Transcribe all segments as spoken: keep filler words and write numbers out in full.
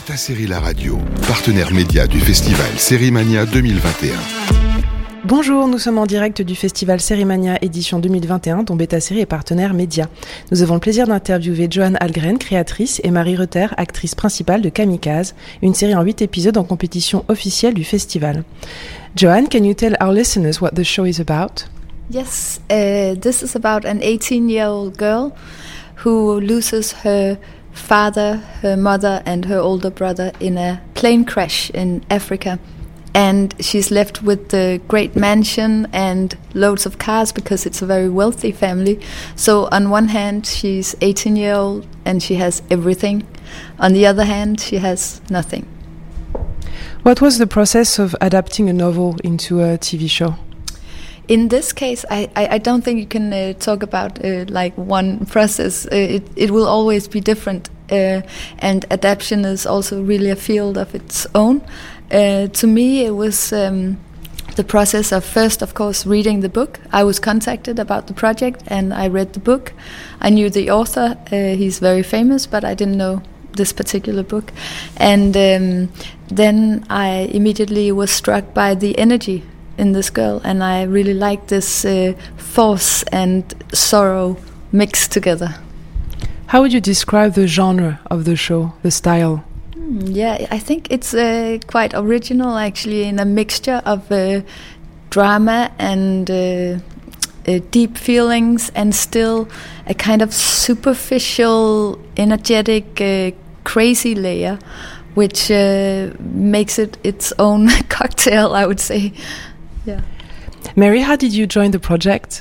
Beta Série La Radio, partenaire média du festival Sérimania deux mille vingt et un. Bonjour, nous sommes en direct du festival Sérimania édition deux mille vingt et un dont Beta Série est partenaire média. Nous avons le plaisir d'interviewer Johanne Ahlgren, créatrice, et Marie Reuter, actrice principale de Kamikaze, une série en huit épisodes en compétition officielle du festival. Johanne, can you tell our listeners what the show is about? Yes, uh, this is about an eighteen-year-old girl who loses her father, her mother and her older brother in a plane crash in Africa. And she's left with the great mansion and loads of cars because it's a very wealthy family. So on one hand, she's eighteen years old and she has everything. On the other hand, she has nothing. What was the process of adapting a novel into a T V show? In this case, I, I, I don't think you can uh, talk about uh, like one process. Uh, it, it will always be different. Uh, and adaptation is also really a field of its own. Uh, to me, it was um, the process of first, of course, reading the book. I was contacted about the project and I read the book. I knew the author. Uh, he's very famous, but I didn't know this particular book. And um, then I immediately was struck by the energy in this girl, and I really liked this uh, force and sorrow mixed together. How would you describe the genre of the show, the style? Mm, yeah, I think it's uh, quite original, actually, in a mixture of uh, drama and uh, uh, deep feelings, and still a kind of superficial, energetic, uh, crazy layer, which uh, makes it its own cocktail, I would say. Yeah. Mary, how did you join the project?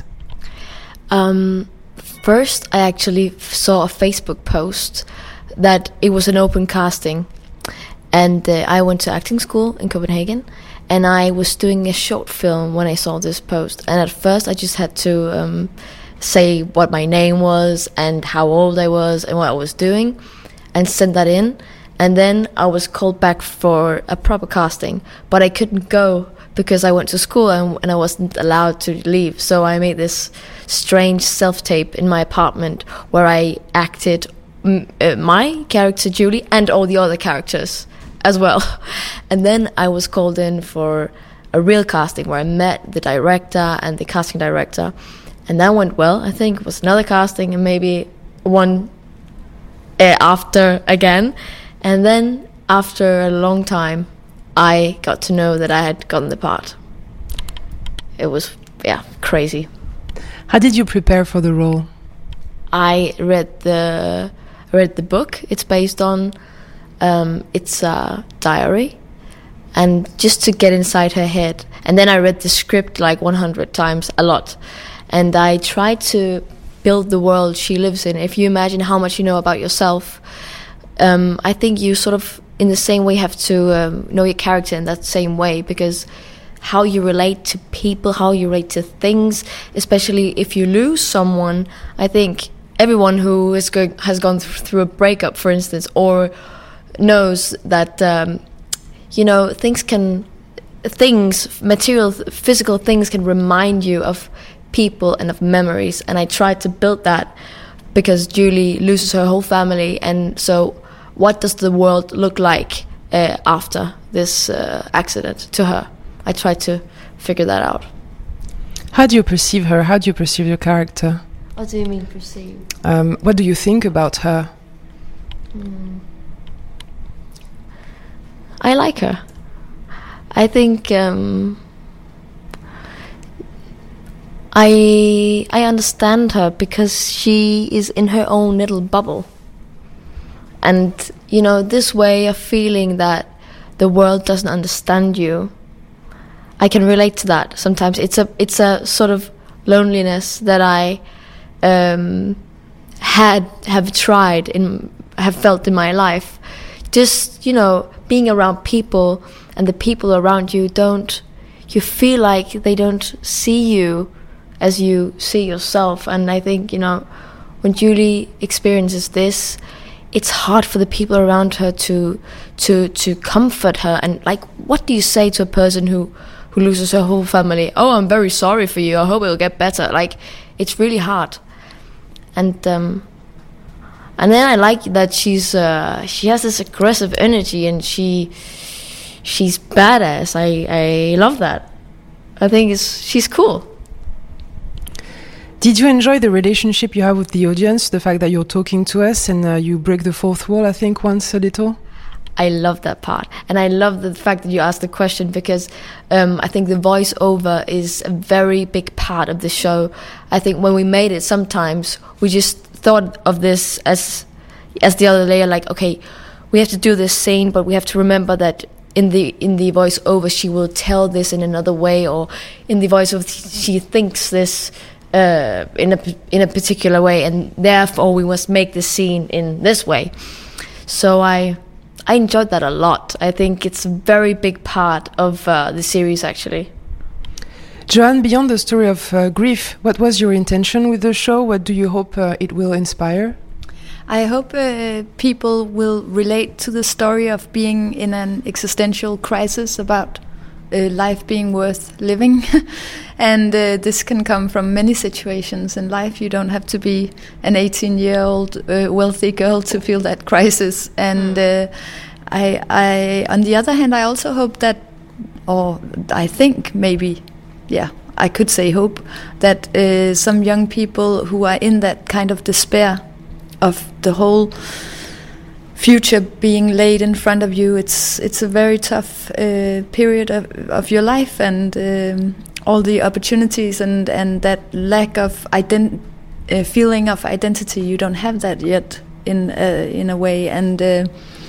Um, first, I actually saw a Facebook post that it was an open casting, and uh, I went to acting school in Copenhagen, and I was doing a short film when I saw this post. And at first, I just had to um, say what my name was and how old I was and what I was doing, and send that in. And then I was called back for a proper casting, but I couldn't go because I went to school and, and I wasn't allowed to leave. So I made this strange self-tape in my apartment where I acted m- uh, my character Julie and all the other characters as well. And then I was called in for a real casting where I met the director and the casting director, and that went well. I think it was another casting and maybe one uh, after again. And then after a long time, I got to know that I had gotten the part. It was, yeah, crazy. How did you prepare for the role? I read the read the book. It's based on, um, it's a diary, and just to get inside her head. And then I read the script like one hundred times, a lot. And I tried to build the world she lives in. If you imagine how much you know about yourself, um, I think you sort of, in the same way, have to um, know your character in that same way, because how you relate to people, how you relate to things, especially if you lose someone. I think everyone who is go- has gone th- through a breakup, for instance, or knows that, um, you know, things can, things, material, physical things can remind you of people and of memories. And I tried to build that because Julie loses her whole family, and so what does the world look like uh, after this uh, accident to her? I tried to figure that out. How do you perceive her? How do you perceive your character? What do you mean perceive? Um, what do you think about her? Mm. I like her. I think um, I I understand her because she is in her own little bubble. And, you know, this way of feeling that the world doesn't understand you, I can relate to that. Sometimes it's a it's a sort of loneliness that I um, had have tried in have felt in my life. Just, you know, being around people, and the people around you don't, you feel like they don't see you as you see yourself. And I think, you know, when Julie experiences this, it's hard for the people around her to to to comfort her. And like, what do you say to a person who who loses her whole family? Oh, I'm very sorry for you, I hope it'll get better. Like, it's really hard. And um And then I like that she's uh, she has this aggressive energy and she she's badass. I I love that. I think it's she's cool. Did you enjoy the relationship you have with the audience? The fact that you're talking to us and uh, you break the fourth wall, I think, once a little? I love that part. And I love the fact that you asked the question because um, I think the voiceover is a very big part of the show. I think when we made it, sometimes we just thought of this as as the other layer, like, okay, we have to do this scene, but we have to remember that in the in the voiceover she will tell this in another way, or in the voiceover she thinks this uh, in a in a particular way, and therefore we must make the scene in this way. So I I enjoyed that a lot. I think it's a very big part of uh, the series, actually. Joanne, beyond the story of uh, grief, what was your intention with the show? What do you hope uh, it will inspire? I hope uh, people will relate to the story of being in an existential crisis about uh, life being worth living. And uh, this can come from many situations in life. You don't have to be an eighteen-year-old uh, wealthy girl to feel that crisis. And uh, I, I, on the other hand, I also hope that, or I think maybe, yeah, I could say hope, that uh, some young people who are in that kind of despair of the whole future being laid in front of you, it's it's a very tough uh, period of, of your life, and um, all the opportunities and, and that lack of ident- uh, feeling of identity, you don't have that yet in uh, in a way, and uh,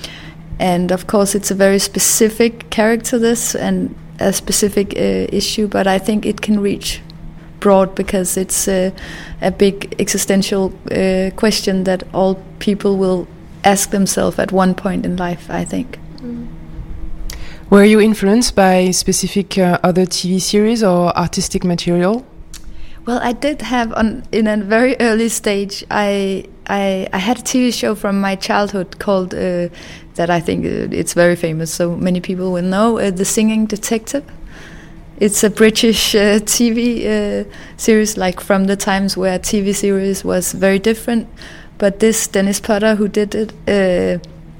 and of course it's a very specific character, this, and a specific uh, issue, but I think it can reach broad because it's uh, a big existential uh, question that all people will ask themselves at one point in life, I think. Mm. Were you influenced by specific uh, other T V series or artistic material? Well, I did have, on in a very early stage, I I, I had a T V show from my childhood called, uh, that I think uh, it's very famous, so many people will know, uh, The Singing Detective. It's a British uh, T V uh, series, like from the times where T V series was very different. But this Dennis Potter, who did it, uh,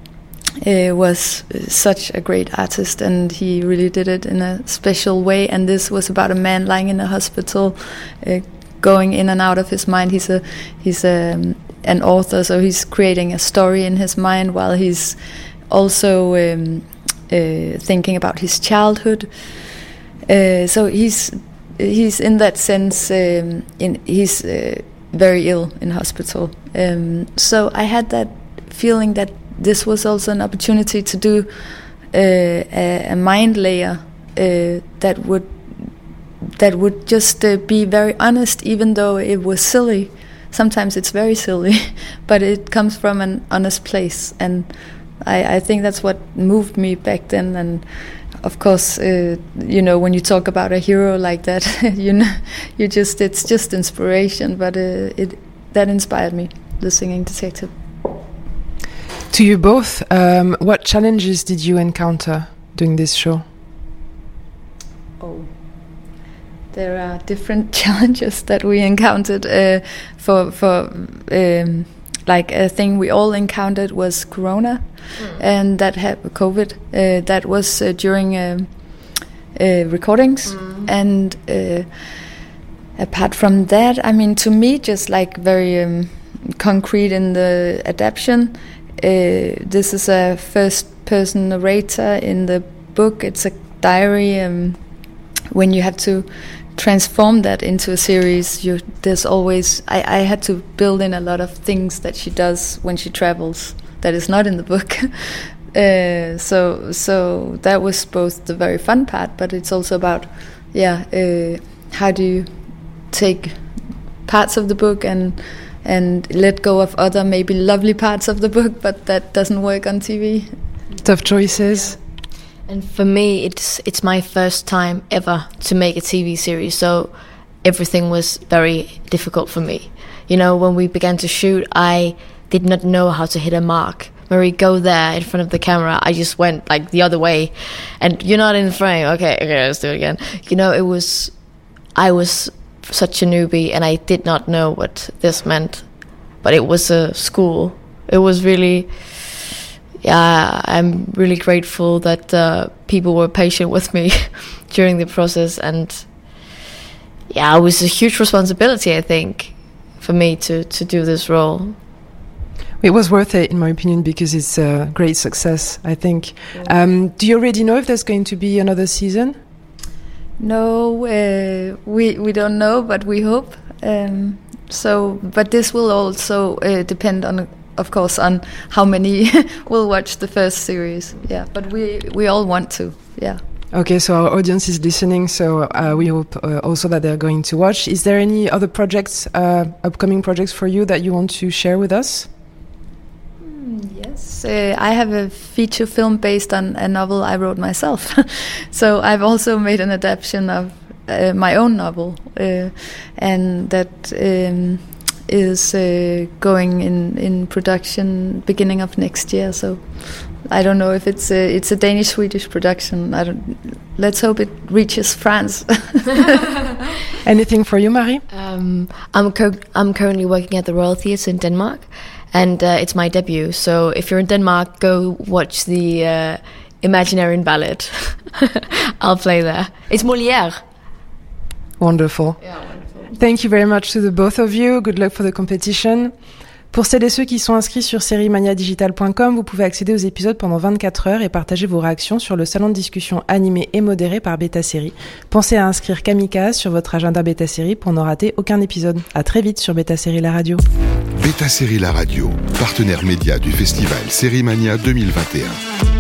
uh, was such a great artist, and he really did it in a special way. And this was about a man lying in a hospital, uh, going in and out of his mind. He's a he's a, um, an author, so he's creating a story in his mind while he's also um, uh, thinking about his childhood. Uh, so he's he's in that sense um, in he's uh, very ill in hospital. Um, so I had that feeling that this was also an opportunity to do uh, a, a mind layer uh, that would that would just uh, be very honest, even though it was silly. Sometimes it's very silly, but it comes from an honest place, and I, I think that's what moved me back then. And of course, uh, you know, when you talk about a hero like that, you know, you just it's just inspiration. But uh, it that inspired me, The Singing Detective. To you both, um, what challenges did you encounter doing this show? Oh, there are different challenges that we encountered. Uh, for for um, like a thing we all encountered was Corona. Mm. And that had COVID. Uh, that was uh, during uh, uh, recordings, mm. and uh, apart from that, I mean, to me, just like very um, concrete in the adaptation. Uh, this is a first-person narrator in the book. It's a diary. Um, when you have to transform that into a series, you there's always I, I had to build in a lot of things that she does when she travels. That is not in the book. uh, so so that was both the very fun part, but it's also about, yeah, uh, how do you take parts of the book and and let go of other maybe lovely parts of the book, but that doesn't work on T V. Tough choices. And for me, it's it's my first time ever to make a T V series, so everything was very difficult for me. You know, when we began to shoot, I did not know how to hit a mark. When we go there in front of the camera, I just went like the other way, and you're not in the frame. Okay, okay, let's do it again. You know, it was, I was such a newbie, and I did not know what this meant. But it was a school it was really, yeah, I'm really grateful that uh, people were patient with me during the process, and yeah, it was a huge responsibility, I think, for me to, to do this role. It was worth it, in my opinion, because it's a great success, I think. Um, do you already know if there's going to be another season? No, uh, we we don't know, but we hope. Um, so, but this will also uh, depend on, of course, on how many will watch the first series. Yeah, but we we all want to. Yeah. Okay, so our audience is listening, so uh, we hope uh, also that they're going to watch. Is there any other projects, uh, upcoming projects for you that you want to share with us? Yes, uh, I have a feature film based on a novel I wrote myself. So I've also made an adaptation of uh, my own novel, uh, and that um, is uh, going in, in production beginning of next year. So I don't know if it's a, it's a Danish-Swedish production. I don't. Let's hope it reaches France. Anything for you, Marie? Um, I'm cur- I'm currently working at the Royal Theatre in Denmark, and uh, it's my debut. So if you're in Denmark, go watch the uh, Imaginarian Ballet. I'll play there. It's Molière. Wonderful. Yeah, wonderful. Thank you very much to the both of you. Good luck for the competition. Pour celles et ceux qui sont inscrits sur série mania digital point com, vous pouvez accéder aux épisodes pendant vingt-quatre heures et partager vos réactions sur le salon de discussion animé et modéré par Beta Série. Pensez à inscrire Kamikaze sur votre agenda Beta Série pour ne rater aucun épisode. À très vite sur Beta Série la radio. Beta Série la radio, partenaire média du festival Série Mania deux mille vingt et un.